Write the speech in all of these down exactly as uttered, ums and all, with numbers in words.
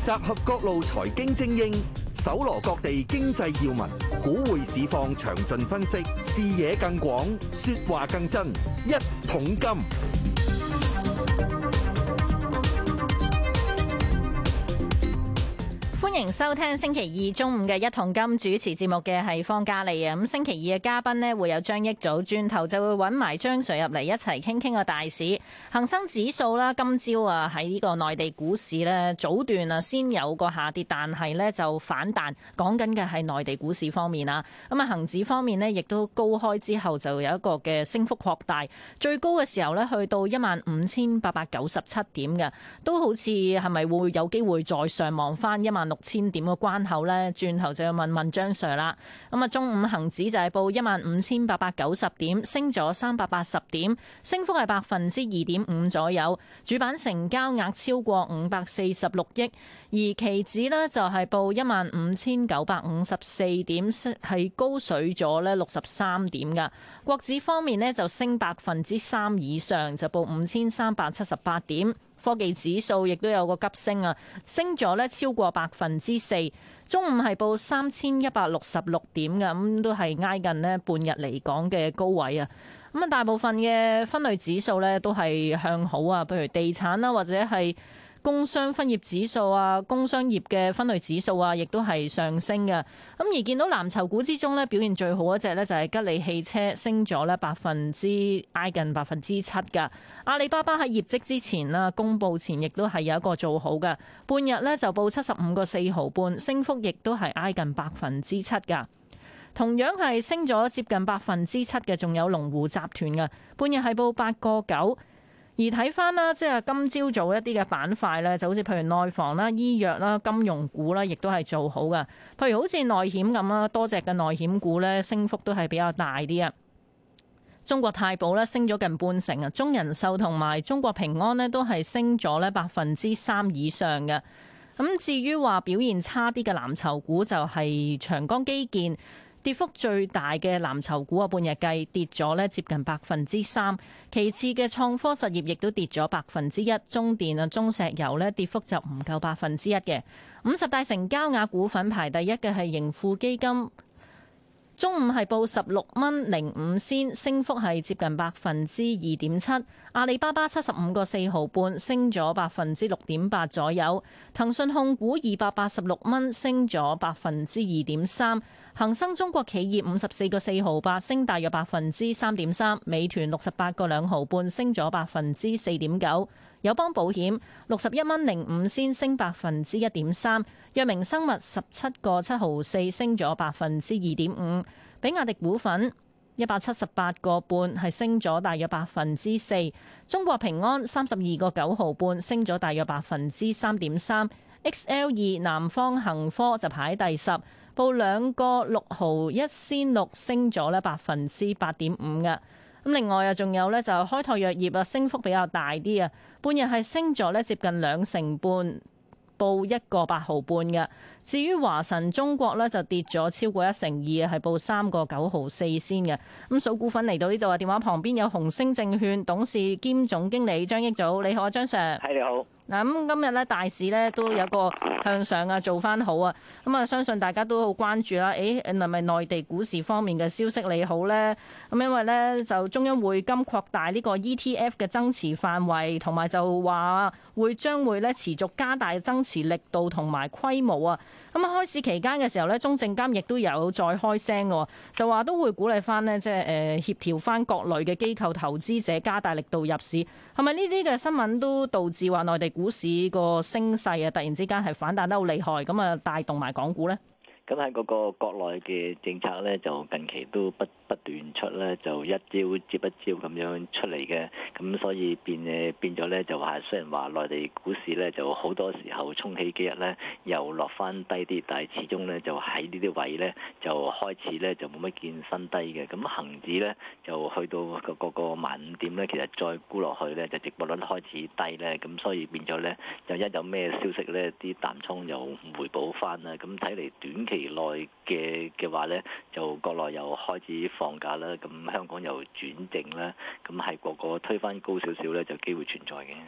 集合各路財經精英，搜羅各地經濟要聞，股匯市況詳盡分析，視野更廣，說話更真。一桶金。 歡迎收聽星期二中午嘅一桶金，主持節目嘅係方嘉莉啊。咁星期二嘅嘉賓呢，會有張益祖，轉頭就會揾埋張 Sir 入嚟一齊傾傾個大市。恒生指數啦，今朝啊喺呢個內地股市呢，早段啊先有個下跌，但係呢就反彈。講緊嘅係內地股市方面啦。咁啊恒指方面呢，亦都高開之後就有一個嘅升幅擴大，最高嘅時候呢，去到一萬五千八百九十七點嘅，都好似係咪會有機會再上望翻一萬六千點嘅關口呢？轉頭就要問問張 Sir 啦。咁啊，中午恒指就係報一萬五千八百九十點，升咗三百八十點，升幅係百分之二點五左右。主板成交額超過五百四十六億，而期指呢就係報一萬五千九百五十四點，係高水咗呢六十三點噶。國指方面呢就升百分之三以上，就報五千三百七十八點。科技指數亦都有個急升啊，升咗咧超過百分之四。中午係報三千一百六十六點嘅，咁都係挨近呢半日嚟講嘅高位啊。咁啊，大部分嘅分類指數咧都係向好啊，譬如地產啦，或者係工商分業指數啊，工商業嘅分類指數啊，亦都係上升嘅。咁而見到藍籌股之中咧，表現最好一隻咧就係吉利汽車，升咗咧百分之挨近百分之七噶。阿里巴巴喺業績之前啦，公佈前亦都係有一個做好嘅，半日咧就報七十五個四毫半，升幅亦都係挨近百分之七噶。同樣係升咗接近百分之七嘅，仲有龍湖集團嘅，半日係報八個九。而睇翻啦，即係今朝早一啲嘅板塊咧，就好似譬如內房啦、醫藥啦、金融股啦，亦都係做好嘅。譬如好似內險咁啦，多隻嘅內險股咧，升幅都係比較大啲啊。中國太保咧升咗近半成啊，中人壽同埋中國平安咧都係升咗咧百分之三以上嘅。咁至於話表現差啲嘅藍籌股就係長江基建。跌幅最大嘅藍籌股啊，半日計跌咗咧接近百分之三。其次嘅創科實業亦都跌咗百分之一，中電啊、中石油咧跌幅就唔夠百分之一嘅。五十大成交額股份排第一嘅係盈富基金。中午係報十六蚊零五仙，升幅係接近百分之二點七。阿里巴巴七十五個四毫半，升咗百分之六點八左右。騰訊控股二百八十六蚊，升咗百分之二點三。恒生中國企業五十四個四毫八，升大約百分之三點三。美團六十八個兩毫半，升咗百分之四點九。友邦保險六十一蚊零五仙，升百分之一點三。藥明生物十七個七毫四，升咗百分之二點五。比亞迪股份一百七十八個半，係升咗大約百分之四。中國平安三十二個九毫半，升咗大約百分之三點三。X L 二南方恒科就排第十，報兩個六毫一仙六，升咗咧百分之八點五嘅。咁另外啊，仲有咧就開拓藥業啊，升幅比較大啲啊，半日係升咗咧接近兩成半，報一個八毫半嘅。至於華晨中國咧就跌咗超過一成二啊，係報三個九毫四先嘅。咁數股份嚟到呢度啊，電話旁邊有紅星證券董事兼總經理張益祖，你好啊，張 Sir。 係，你好。 嗱，咁今日咧大市咧都有個向上啊，做翻好啊，咁啊相信大家都好關注啦。誒，係咪內地股市方面嘅消息利好咧？咁因為咧就中央匯金擴大呢個 E T F 嘅增持範圍，同埋就話會將會咧持續加大增持力度同埋規模啊。咁啊開市期間嘅時候咧，中證監亦都有再開聲嘅，就話都會鼓勵翻呢，即係誒協調翻各類嘅機構投資者加大力度入市。係咪呢啲嘅新聞都導致話內地股市個升勢啊，突然之間係反彈得好厲害，咁啊帶動埋港股呢？ 咁喺嗰個國內嘅政策咧，就近期都不不斷出咧，就一招接一招咁樣出嚟嘅。咁所以變誒變咗咧，就話雖然話內地股市咧就好多時候衝起幾日咧，又落翻低啲，但係始終咧就喺呢啲位咧就開始咧就冇乜見新低嘅。咁恒指咧就去到個個個萬五點咧，其實再沽落去咧就值博率開始低咧，咁所以變咗咧就一有咩消息咧，啲淡倉又回補翻啦。咁睇嚟短期內嘅嘅話咧，就國內又開始放假啦，咁香港又轉正啦，咁係個個推翻高少少咧，就機會存在嘅。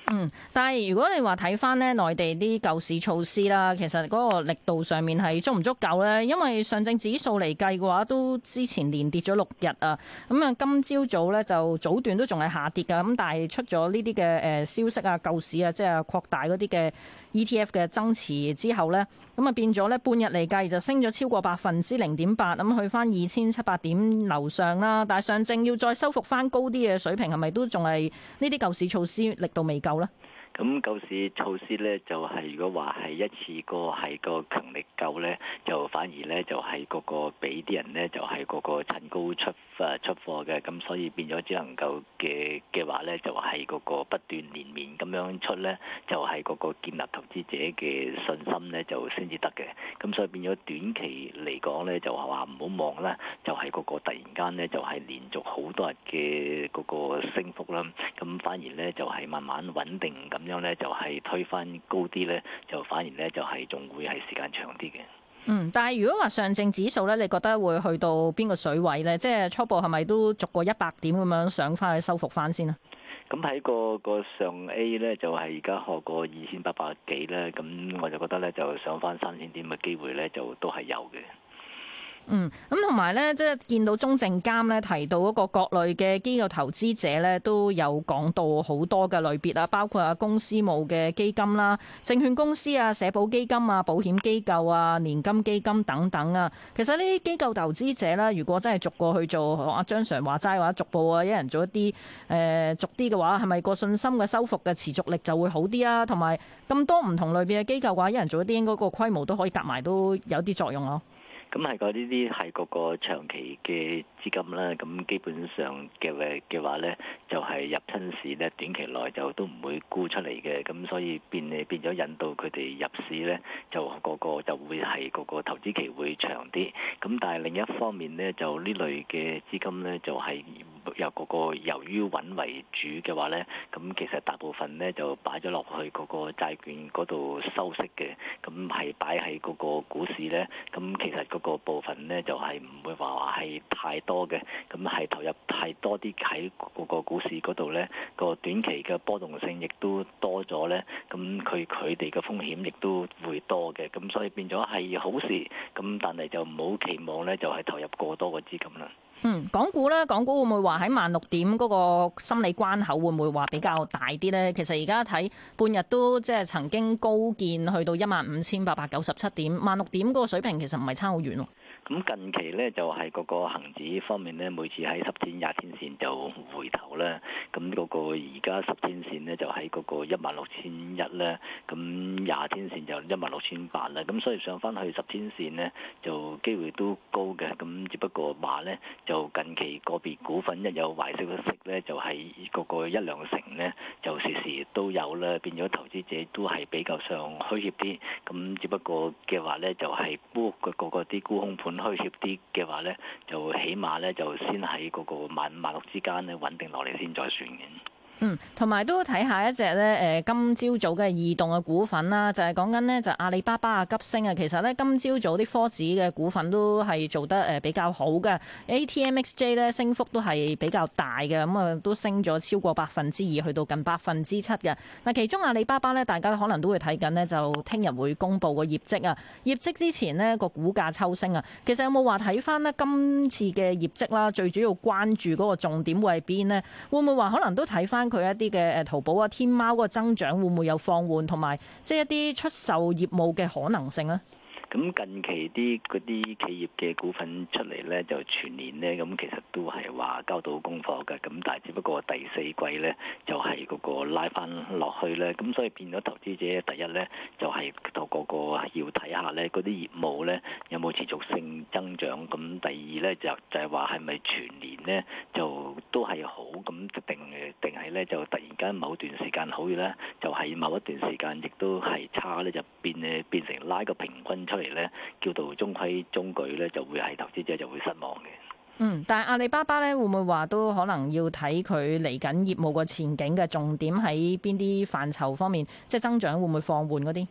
嗯，但係如果你話睇翻咧內地啲救市措施啦，其實嗰個力度上面係足唔足夠咧？因為上證指數嚟計嘅話，都之前連跌咗六日啊。咁啊，今朝早咧就早段都仲係下跌㗎。咁但係出咗呢啲嘅誒消息啊，救市啊，即係擴大嗰啲嘅 E T F 嘅增持之後咧，咁啊變咗咧半日嚟計就升咗超過百分之零點八，咁去翻二千七百點樓上啦。但係上證要再收復翻高啲嘅水平，係咪都仲係呢啲救市措施力度未夠咧？ 咁救市措施咧，就係、是、如果話係一次過係個強力救咧，就反而咧就係、是、個個俾啲人咧就係、是、個個趁高出誒出貨嘅，咁所以變咗只能夠嘅嘅話咧，就係、是、個個不斷連綿咁樣出咧，就係、是、個個建立投資者嘅信心咧，就先至得嘅。咁所以變咗短期嚟講咧，就係話唔好望啦，就係、是、個個突然間咧就係、是、連續好多日嘅嗰個升幅啦，咁反而咧就係、是、慢慢穩定咁。咁樣咧就係推翻高啲咧，就反而咧就係仲會係時間長啲嘅。 嗯，但係如果話上證指數咧，你覺得會去到邊個水位咧？即係初步係咪都逐個一百點咁樣上翻去收復翻先啊？ 咁喺個個上 A 咧，就係而家學過二千八百幾咧，咁我就覺得咧就上翻三千點嘅機會咧，就都係有嘅。 嗯，咁同埋咧，即係見到中證監咧提到嗰個各類嘅機構投資者咧，都有講到好多嘅類別啊，包括啊公司務嘅基金啦、證券公司啊、社保基金啊、保險機構啊、年金基金等等啊。其實呢啲機構投資者啦，如果真係逐個去做，阿張 Sir 話齋話逐步啊，一人做一啲誒、呃、逐啲嘅話，係咪個信心嘅收復嘅持續力就會好啲啊？同埋咁多唔同類別嘅機構嘅話，一人做一啲，應該個規模都可以夾埋都有啲作用咯。 咁係個呢啲係個個長期嘅資金啦，咁基本上嘅嘅話咧，就係、是、入親市咧，短期內就都唔會沽出嚟嘅，咁所以變誒變咗引導佢哋入市咧，就個個就會係個個投資期會長啲。咁但係另一方面咧，就呢類嘅資金咧，就係、是、由個個由於穩為主嘅話咧，咁其實大部分咧就擺咗落去嗰個債券嗰度收息嘅，咁係擺喺嗰個股市咧，咁其實嗰個部分咧就係唔會話係太多嘅，咁係投入太多啲喺嗰個股市嗰度咧，個短期嘅波動性亦都多咗咧，咁佢佢哋嘅風險亦都會多嘅，咁所以變咗係好事，咁但係就唔好期望咧就係投入過多嘅資金啦。 嗯，港股咧，港股會唔會話喺萬六點嗰個心理關口會唔會話比較大啲咧？其實而家睇半日都即係曾經高見去到一萬五千八百九十七點，萬六點嗰個水平其實唔係差好遠喎。 咁近期咧就係、是、嗰個恆指方面咧，每次喺十天、廿天線就回頭啦。咁嗰個而家十天線咧就喺嗰個一萬六千一咧，咁廿天線就一萬六千八啦。咁所以上翻去十天線咧，就機會都高嘅。咁只不過話咧，就近期個別股份一有壞消息咧，就係、是、嗰個一兩成咧，就時時都有啦。變咗投資者都係比較上虛怯啲。咁只不過嘅話咧，就係沽個個個啲沽空盤虛怯啲嘅話咧，就起碼咧就先喺嗰個萬五萬六之間咧穩定落嚟先再算嘅。 嗯，同埋都睇下一隻咧，誒今朝早嘅異動嘅股份啦，就係講緊呢，就阿里巴巴啊急升啊，其實咧今朝早啲科指嘅股份都係做得誒比較好嘅 ，A T M X J 咧升幅都係比較大嘅，咁啊都升咗超過百分之二，去到近百分之七嘅。嗱，其中阿里巴巴咧，大家可能都會睇緊呢，就聽日會公布個業績啊，業績之前呢，個股價抽升啊，其實有冇話睇翻呢？今次嘅業績啦，最主要關注嗰個重點會係邊呢？會唔會話可能都睇翻佢一啲嘅誒淘寶啊、天貓嗰個增長會唔會有放緩，同埋即係一啲出售業務嘅可能性咧？ 咁近期啲嗰啲企業嘅股份出嚟咧，就全年咧，咁其實都係話交到功課嘅，咁但係只不過第四季咧就係、是、嗰個拉翻落去咧，咁所以變咗投資者第一咧就係個個個要睇下咧嗰啲業務咧有冇持續性增長，咁第二咧就就係話係咪全年咧就都係好，咁定定係咧就突然間某段時間好咧，就係、是、某一段時間亦都係差咧，就變誒變成拉個平均出嚟咧，叫做中規中矩咧，就會係投資者就會失望嘅。 嗯，但係阿里巴巴咧，會唔會話都可能要睇佢嚟緊業務個前景嘅重點喺邊啲範疇方面，即係增長會唔會放緩嗰啲？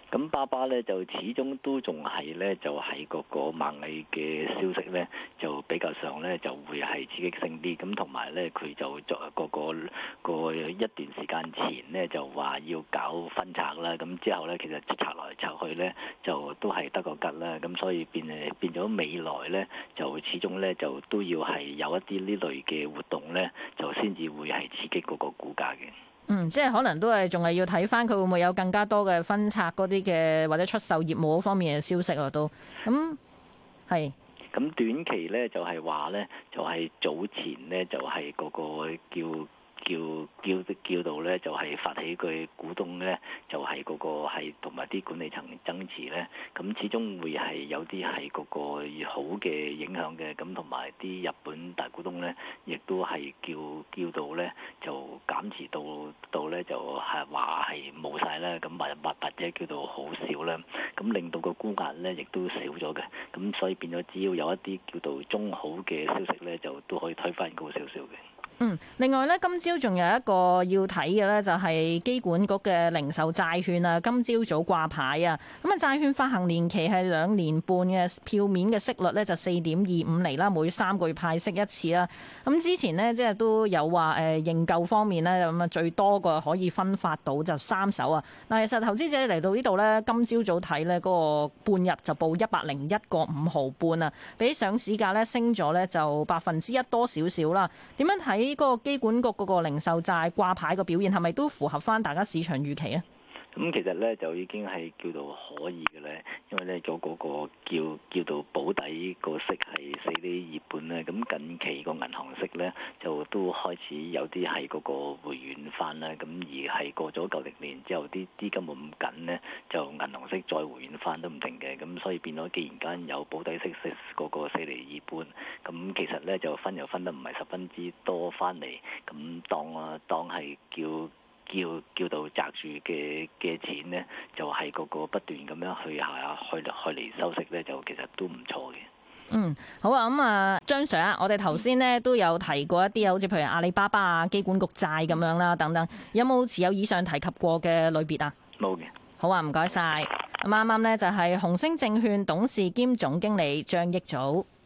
咁巴巴咧就始終都仲係咧就係嗰個螞蟻嘅消息咧就比較上咧就會係刺激性啲，咁同埋咧佢就作個個個一段時間前咧就話要搞分拆啦，咁之後咧其實拆來拆去咧就都係得個吉啦，咁所以變誒變咗未來咧就始終咧就都要係有一啲呢類嘅活動咧就先至會係刺激嗰個股價嘅。 嗯，即係可能都係仲係要睇翻佢會唔會有更加多嘅分拆嗰啲嘅或者出售業務嗰方面嘅消息啊，都咁係。咁短期咧就係話咧就係、是、早前咧就係、是、嗰個叫。叫叫叫到咧就係發起佢股東咧就係嗰個係同埋啲管理層增持咧，咁始終會係有啲係嗰個好嘅影響嘅，咁同埋啲日本大股東咧亦都係叫叫到咧就減持到到咧就係話係冇晒啦，咁或或或者叫做好少啦，咁令到個沽壓咧亦都少咗嘅，咁所以變咗只要有一啲叫做中好嘅消息咧，就都可以推翻高少少嘅。 嗯，另外咧，今朝仲有一個要睇嘅咧，就係機管局嘅零售債券啊，今朝早掛牌啊，咁啊債券發行年期係兩年半嘅，票面嘅息率咧就四點二五厘啦，每三個月派息一次啦。咁之前呢，即係都有話誒認購方面咧，咁啊最多個可以分發到就三手啊。嗱，其實投資者嚟到呢度咧，今朝早睇咧嗰個半日就報一百零一個五毫半啊，比上市價咧升咗咧就百分之一多少少啦。點樣睇？呢個機管局嗰個零售債掛牌個表現係咪都符合翻大家市場預期啊？ 咁其實咧就已經係叫做可以嘅咧，因為咧咗嗰個叫叫做保底個息係四厘二半咧，咁近期個銀行息咧就都開始有啲係嗰個回軟翻啦，咁而係過咗舊歷年之後，啲資金冇咁緊咧，就銀行息再回軟翻都唔定嘅，咁所以變咗既然間有保底息息嗰個四厘二半，咁其實咧就分又分得唔係十分之多翻嚟，咁當啊當係叫。叫叫到擲住嘅嘅錢呢，就係、是、嗰個不斷咁樣去下去去嚟收息呢，就其實都唔錯嘅。 嗯，好啊，咁、嗯、啊，張 Sir 啊，我哋頭先呢都有提過一啲好似譬如阿里巴巴啊、機管局債咁樣啦，等等，有冇持有以上提及過嘅類別啊？ 冇嘅。 好啊，唔該晒。咁啱啱呢就係紅星證券董事兼總經理張益祖。